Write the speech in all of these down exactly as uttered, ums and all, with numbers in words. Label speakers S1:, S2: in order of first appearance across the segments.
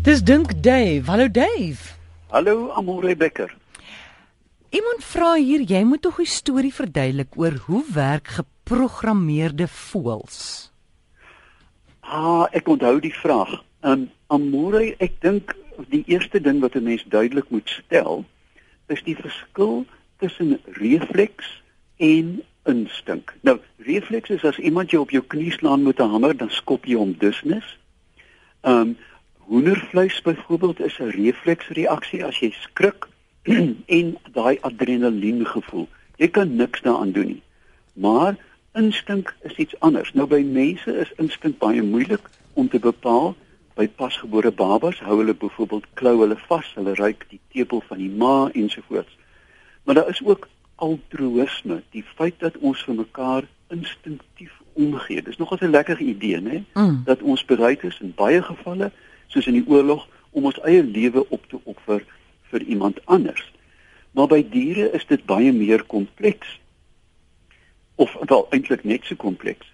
S1: Dis Dink Dave. Hallo Dave.
S2: Hallo Amore Becker.
S1: Iemand vra hier, jy moet tog 'n storie verduidelik oor hoe werk geprogrammeerde voëls.
S2: Ah, ek onthou die vraag. Um, Amore, ek dink die eerste ding wat 'n mens duidelik moet stel, is die verskil tussen refleks en instink. Nou, refleks is as iemand jou op jou knie slaan met 'n hamer, dan skop jy hom dusnis. Um hoendervleis byvoorbeeld is 'n refleksreaksie as jy skrik en daai adrenalien gevoel. Jy kan niks daaraan doen nie. Maar instink is iets anders. Nou by mense is instink baie moeilik om te bepaal. By pasgebore babas hou hulle byvoorbeeld klou hulle vas, hulle ruik die tepel van die ma ensovoorts. Maar daar is ook altruïsme, die feit dat ons vir mekaar instinktief omgee. Dis nogal 'n lekker idee, né? Mm. Dat ons bereid is in baie gevalle, soos in die oorlog, om ons eie lewe op te offer vir iemand anders. Maar by diere is dit baie meer kompleks. Of wel eintlik net so kompleks.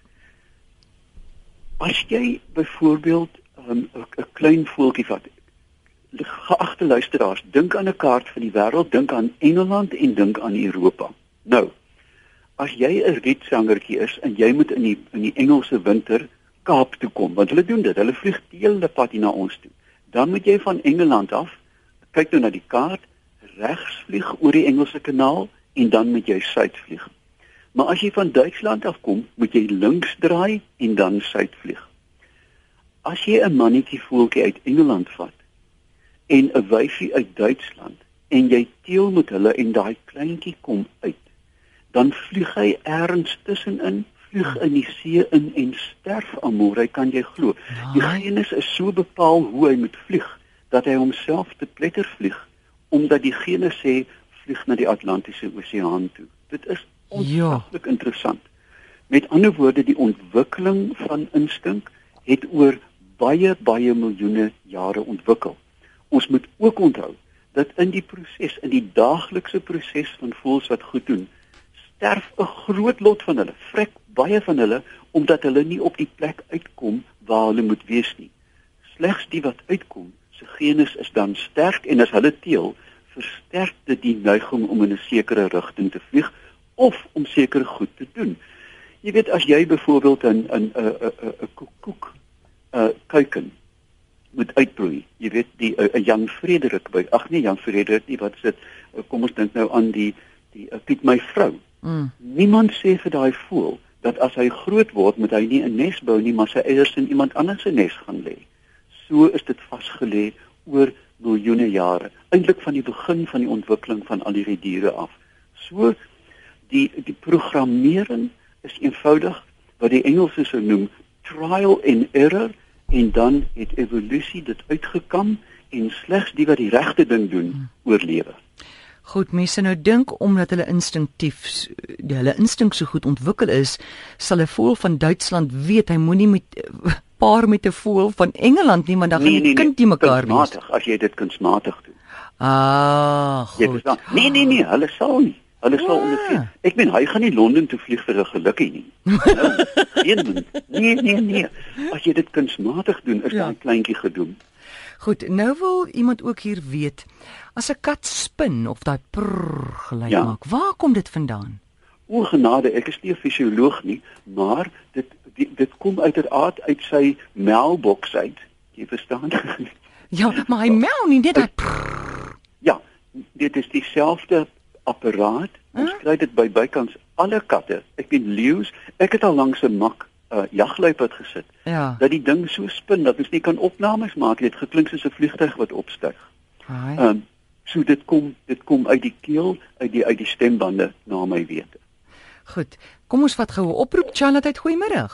S2: As jy byvoorbeeld 'n um, klein voeltjie vat, geagte luisteraars, dink aan 'n kaart van die wêreld, dink aan Engeland en dink aan Europa. Nou, as jy 'n rietsangertjie is en jy moet in die in die Engelse winter Kaap toe kom, want hulle doen dit, hulle vlieg die hele pad hier na ons toe. Dan moet jy van Engeland af, kyk nou na die kaart, regs vlieg oor die Engelse kanaal en dan moet jy suid vlieg. Maar as jy van Duitsland af kom, moet jy links draai en dan suid vlieg. As jy 'n mannetjie voeltjie uit Engeland vat en 'n wyfie uit Duitsland en jy teel met hulle en daai kleintjie kom uit, dan vlieg hy ergens tussenin, vlieg in die see in en sterf, Amore, kan jy glo. Die genus is so bepaal hoe hy moet vlieg dat hy homself te pletter vlieg, omdat die genus sê vlieg na die Atlantiese Oseaan toe. Dit is ongelooflik interessant. Met ander woorde, die ontwikkeling van instink het oor baie baie miljoene jare ontwikkel. Ons moet ook onthou dat in die proses, in die daaglikse proses van voëls wat goed doen, sterf 'n groot lot van hulle, vrek baie van hulle, omdat hulle nie op die plek uitkom waar hulle moet wees nie. Slegs die wat uitkom, se genus is dan sterk en as hulle teel, versterk dit die neiging om in 'n sekere rigting te vlieg of om sekere goed te doen. Jy weet, as jy byvoorbeeld 'n 'n 'n 'n koekoek uh kuiken moet uitbroei. Jy weet die 'n uh, Jan Frederik by ag nee Jan Frederik nie, wat sit uh, kom ons dink nou aan die die uh, Piet my vrou. Mm. Niemand sê vir daai voël dat as hy groot word moet hy nie 'n nes bou nie, maar sy eiers in iemand anders se nes gaan lê. So is dit vasgelê oor miljoene jare, eintlik van die begin van die ontwikkeling van al hierdie diere af. So die die programmering is eenvoudig wat die Engelse sou noem trial and error, en dan het evolusie dit uitgekam en slegs die wat die regte ding doen, hmm. oorlewe.
S1: Goed, mense nou dink omdat hulle instinktief, hulle instink so goed ontwikkel is, sal 'n voël van Duitsland weet hy moenie met paar met 'n voël van Engeland nie, want dan gaan die nee, kind nie mekaar wees.
S2: Kunsmatig, as jy dit kunsmatig doen.
S1: Ah, goed.
S2: Nee, nee, nee, hulle sal nie. Hulle sal ah. ondervind. Ek meen, hy gaan nie Londen toe vlieg vir 'n gelukkie nie. Nou, een nee, nee, nee. As jy dit kunsmatig doen, is ja. daai kleintjie gedoen.
S1: Goed, nou wil iemand ook hier weet, as 'n kat spin of daai prrr geluid ja. maak, waar kom dit vandaan?
S2: O genade, ek is nie 'n fisioloog nie, maar dit dit, dit kom uiteraard uit sy melkboks uit. Jy verstaan?
S1: Ja, maar hy mel nie net daai prrr.
S2: Ja, dit is dieselfde apparaat. Ons huh? kry dit by bykans alle katte. Ek weet leeu's, ek het al langs 'n mak uh, jagluiperd gesit. Ja. Dat die ding so spin dat ons nie kan opnames maak. Dit geklink soos 'n vliegtuig wat opstyg. Ehm um, so dit kom dit kom uit die keel, uit die uit die stembande na my wete.
S1: Goed. Kom ons vat gou 'n oproep. Charlotte, goeiemôre.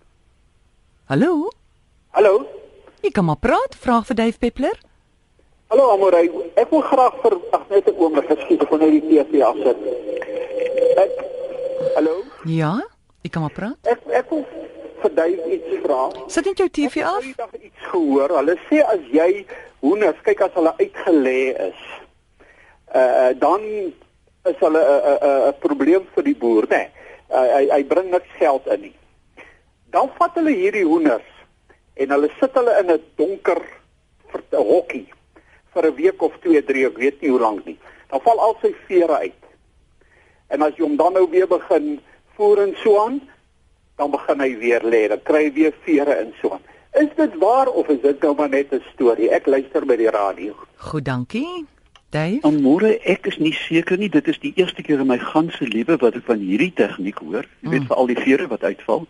S1: Hallo?
S3: Hallo?
S1: Ek kan maar praat. Vraag vir Dave Peppler.
S3: Hallo Amore, ek wil graag vir ag net 'n oomblik geskiet ek wil net die T V afsit. Ek Hallo?
S1: Ja, ek kan maar praat.
S3: Ek ek wil vir Dave iets vra.
S1: Sit net jou T V af.
S3: Ek het iets gehoor. Hulle sê as jy hoenders kyk as hulle uitgelê is, uh dan is hulle 'n uh, 'n uh, uh, probleem vir die boer, né? Nee, uh, hy hy bring niks geld in nie. Dan vat hulle hierdie hoenders en hulle sit hulle in 'n donker vir 'n hokkie vir 'n week of twee, drie, ek weet nie hoe lank nie. Dan val al sy vere uit. En as jy hom dan nou weer begin voer en so aan, dan begin hy weer lê, dan kry hy weer vere en so aan. Is dit waar of is dit nou maar net 'n storie? Ek luister by die radio.
S1: Goed, dankie. Dave?
S2: Amore, ek is nie seker nie, dit is die eerste keer in my ganse lewe wat ek van hierdie tegniek hoor. Jy weet,
S1: Mm.
S2: vir al die vere wat uitval.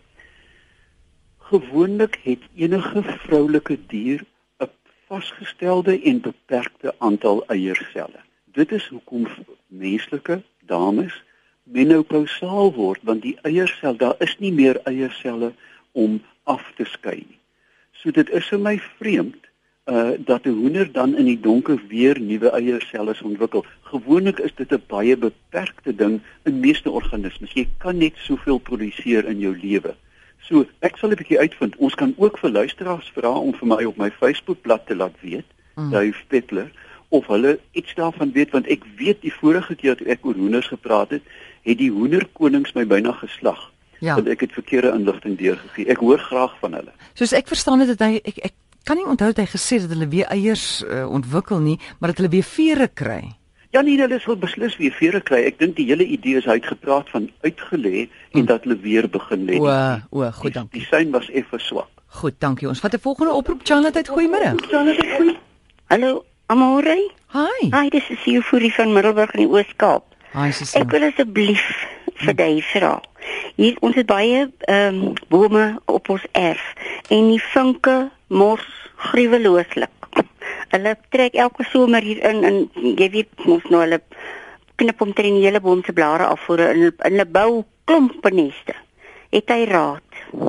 S2: Gewoonlik het enige vroulike dier 'n vasgestelde en beperkte aantal eierselle. Dit is hoekom menslike dames menopausaal word, want die eiersel, daar is nie meer eierselle om af te skei nie. So dit is vir my vreemd uh dat 'n hoender dan in die donker weer nuwe eierselle ontwikkel. Gewoonlik is dit 'n baie beperkte ding in meeste organismes. Jy kan net soveel produseer in jou lewe. So, ek sal 'n bietjie uitvind. Ons kan ook vir luisteraars vra om vir my op my Facebookblad te laat weet,
S1: Mm.
S2: Dave Peppler, of hulle iets daarvan weet, want ek weet die vorige keer toe ek oor hoenders gepraat het, het die hoenderkonings my byna geslag.
S1: Ja.
S2: Want ek het verkeerde inligting deurgegee. Ek hoor graag van hulle.
S1: Soos ek verstaan het, het hy ek ek kan nie onthou dat hy gesê het dat hulle weer eiers uh, ontwikkel nie, maar dat hulle weer vere kry.
S2: Ja nee, hulle sal beslis weer vere kry. Ek dink die hele idee is hy het gepraat van uitgelê en
S1: Mm.
S2: dat hulle weer begin lê.
S1: O, o, goed,
S2: Die,
S1: dankie.
S2: die sein was effe swak.
S1: Goed, dankie. Ons vat 'n volgende oproep. Charlotte, goeiemôre.
S4: Hallo, Amore.
S1: Hi.
S4: Hi, dis is Euforie van Middelburg in die Oos-Kaap.
S1: Hi, Susan.
S4: Ek wil asseblief vir Dave vra. Hier ons het baie ehm um, bome op ons erf en die vinke mors gruwelooslik. Hulle trek elke somer hier in en jy weet mos nou hulle knip omtrent die hele boom se blare af voor in hulle, hulle bou klompe neste. Het hy raad?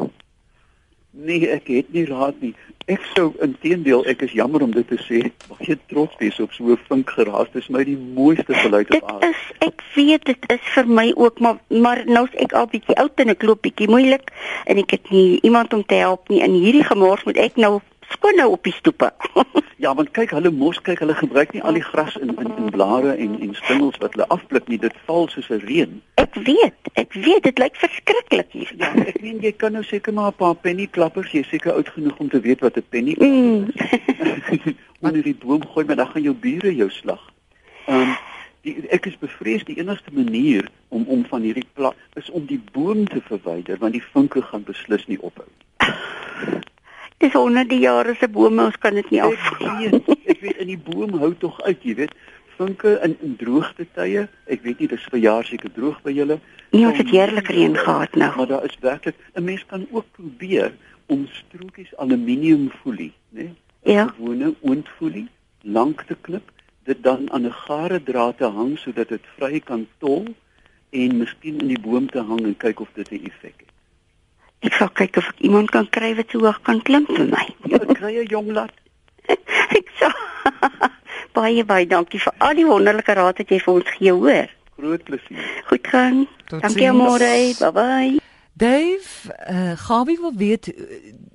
S2: Nee, ek het nie raad nie. Ek sou inteendeel, ek is jammer om dit te sê, baie trots wees op so 'n vink geraas. Dit is my die mooiste geluid
S4: Dit
S2: op aarde.
S4: is, ek weet dit is vir my ook, maar maar nou is ek al bietjie oud en ek loop bietjie moeilik en ek het nie iemand om te help nie. In hierdie gemors moet ek nou skoon nou op die stoepe.
S2: Ja, want kyk, hulle mos kyk, hulle gebruik nie al die gras in in, in blare en en stingels wat hulle afblik nie. Dit val soos 'n reën.
S4: Ek weet, ek weet dit lyk verskriklik hier.
S2: Ja, ek meen jy kan nou seker maar 'n paar pennyklappers, jy is seker oud genoeg om te weet wat 'n penny
S4: Mm.
S2: onder die boom gooi, maar dan gaan jou bure jou slag. Ehm um, die ek is bevrees die enigste manier om om van hierdie pla is om die boom te verwyder, want die vinke gaan beslis nie ophou.
S4: Dis honderde jare se bome, ons kan dit nie af.
S2: Ek weet, ek weet in die boom hou tog uit, jy weet, vinke in, in droogte tye, ek weet nie, dis vir jaar seker droog by julle.
S4: Nee, ons het heerlik reën gehad nou.
S2: Maar daar is werklik, 'n mens kan ook probeer om strokies aluminiumfolie, né?
S4: Ja.
S2: Gewone oondfolie lank te klip, dit dan aan 'n gare draad te hang sodat dit vry kan tol en miskien in die boom te hang en kyk of dit 'n effek het.
S4: Ek sal kyk of ek iemand kan kry wat so hoog kan klim vir my.
S2: Ja, kry 'n jong lad.
S4: Ek sal baie baie dankie vir al die wonderlike raad wat jy vir ons gee, hoor.
S2: Groot plesier.
S4: Goed gaan.
S1: Tot
S4: Dankie
S1: ziens.
S4: Amore. Bye bye.
S1: Dave, uh, Gawie wil weet uh,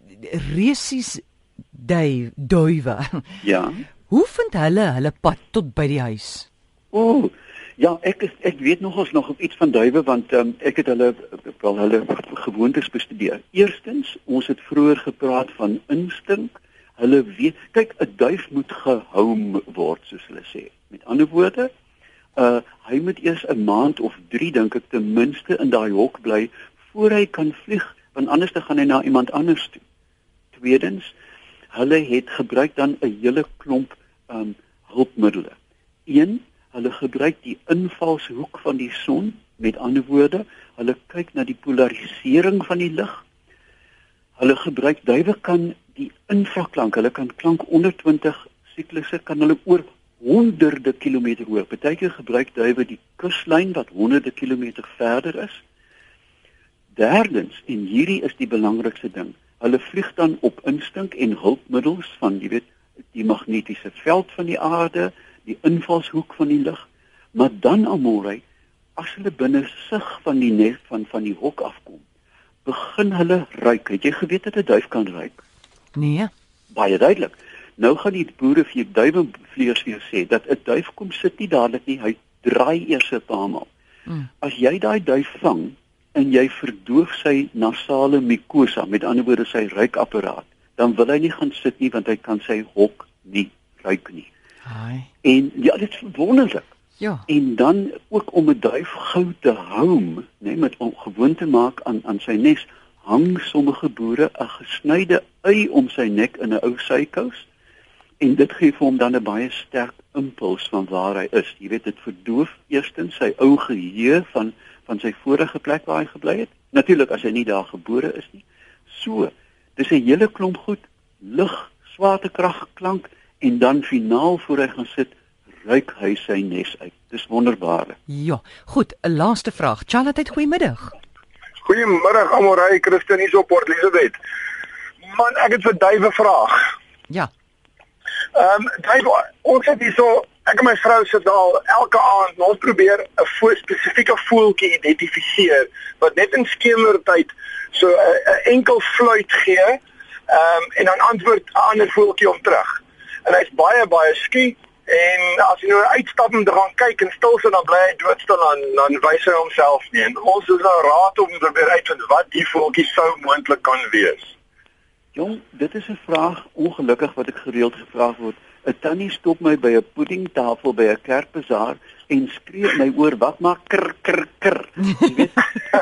S1: resies Dave, duwe.
S2: Ja.
S1: Hoe vind hulle hulle pad tot by die huis?
S2: O, oh, ja, ek is ek weet nogals nog op iets van duwe want um, ek het hulle wel hulle gewoontes bestudeer. Eerstens, ons het vroeër gepraat van instink. Hulle weet, kyk, 'n duif moet gehou word soos hulle sê. Met ander woorde, uh hy moet eers 'n maand of drie dink ek ten minste in daai hok bly voor hy kan vlieg, want anders dan gaan hy na iemand anders toe. Tweedens, hulle het gebruik dan 'n hele klomp um hulpmiddels. Een, hulle gebruik die invalshoek van die son, met ander woorde, hulle kyk na die polarisering van die lig. Hulle gebruik duwe kan die infraklank, hulle kan klank onder twintig siklusse kan hulle oor honderde kilometer hoor. Partykeer gebruik duwe die kuslyn wat honderde kilometer verder is. Derdens, en hierdie is die belangrikste ding, hulle vlieg dan op instink en hulpmiddels van, jy weet, die magnetiese veld van die aarde, die invalshoek van die lig, maar dan Amore, as hulle binne sig van die nes van van die hok afkom, begin hulle ruik. Het jy geweet dat 'n duif kan ruik?
S1: Nee.
S2: Baie duidelik. Nou gaan die boere vir duiwevleiers weer sê dat 'n duif kom sit nie dadelik nie, hy draai eers 'n paar maal.
S1: Mm.
S2: As jy daai duif vang en jy verdoof sy nasale mucosa, met ander woorde sy ruikapparaat, dan wil hy nie gaan sit nie want hy kan sy hok nie ruik nie.
S1: Haai.
S2: En ja, dit is wonderlik.
S1: Ja.
S2: En dan ook om 'n duif gou te hou, né, met om gewoon te maak aan aan sy nes, hang sommige boere 'n gesnyde ui om sy nek in 'n ou sykous. En dit gee vir hom dan 'n baie sterk impuls van waar hy is. Jy weet, dit verdoof eerstens sy ou geheue van van sy vorige plek waar hy gebly het. Natuurlik as hy nie daar gebore is nie. So, dis 'n hele klomp goed, lig, swaartekrag, klank en dan finaal voor hy gaan sit, ruik hy sy nes uit. Dis wonderbaarlik.
S1: Ja, goed, 'n laaste vraag. Charlotte, goeiemiddag.
S5: Goeiemiddag Amorey, Christen hier op Port Elizabeth. Man, ek het vir Dave 'n vraag.
S1: Ja.
S5: Ehm um, Dave, ons het hierso, ek en my vrou sit al elke aand, ons probeer 'n vo- spesifieke voeltjie identifiseer wat net in skemertyd so 'n enkel fluit gee, ehm um, en dan antwoord 'n ander voeltjie om terug. En hy's baie baie skie. En as jy nou uitstap om te gaan kyk en stil sit, dan bly hy doodstil, dan dan wys hy homself nie. En ons is nou raad om te probeer uitvind wat die voeltjie sou moontlik kan wees.
S2: Jong, dit is 'n vraag ongelukkig wat ek gereeld gevra word. 'n Tannie stop my by 'n puddingtafel by 'n kerkbazaar en skree in my oor, "Wat maak kr kr kr?" Jy weet.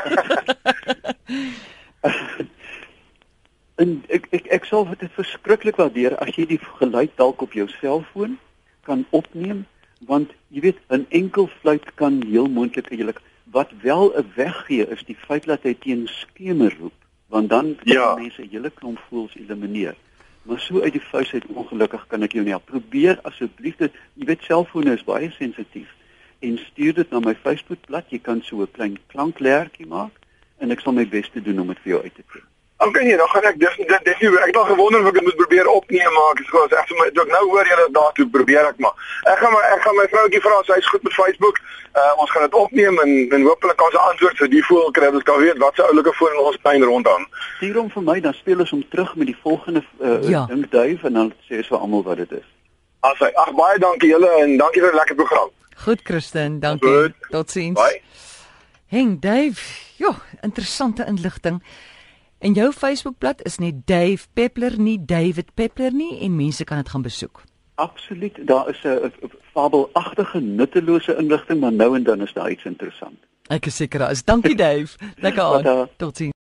S2: En ek ek ek sal dit verskriklik waardeer as jy die geluid dalk op jou selfoon kan opneem, want jy weet 'n enkel fluit kan heel moontlik eintlik wat wel 'n weggee is die feit dat hy teen skemer roep, want dan kan
S5: Ja.
S2: mense 'n hele klomp voëls elimineer. Maar so uit die vuis uit ongelukkig kan ek jou nie help. Probeer asseblief dit, jy weet selfone is baie sensitief en stuur dit na my Facebookblad. Jy kan so 'n klein klanklertjie maak en ek sal my bes te doen om dit vir jou uit te kry.
S5: Okay nee, dan gaan ek dis dit dis nie ek het al gewonder of ek dit moet probeer opneem maak. Ek sê ek vir my toe ek nou hoor julle daartoe probeer ek maar. Ek gaan my ek gaan my vroutjie vra, sy is goed met Facebook. Uh, ons gaan dit opneem en en hopelik kan sy antwoord vir die voel kry. Ons kan weet wat se oulike voel in ons tuin rondom.
S2: Stuur hom vir my, dan speel ons hom terug met die volgende uh,
S1: Ja.
S2: dink duif en dan sê ons vir almal wat dit is.
S5: As hy ag baie dankie julle en dankie vir 'n lekker program.
S1: Goed, Christen, dankie.
S5: Goed.
S1: Totsiens.
S5: Bye.
S1: Henk, Dave, ja, interessante inligting. En jou Facebookblad is nie Dave Peppler nie, David Peppler nie en mense kan dit gaan besoek.
S2: Absoluut, daar is 'n fabelagtige nuttelose inligting, maar nou en dan is daar iets interessant.
S1: Ek is seker daar is. Dankie Dave. Lekker aan.
S2: Tata.
S1: Totsiens.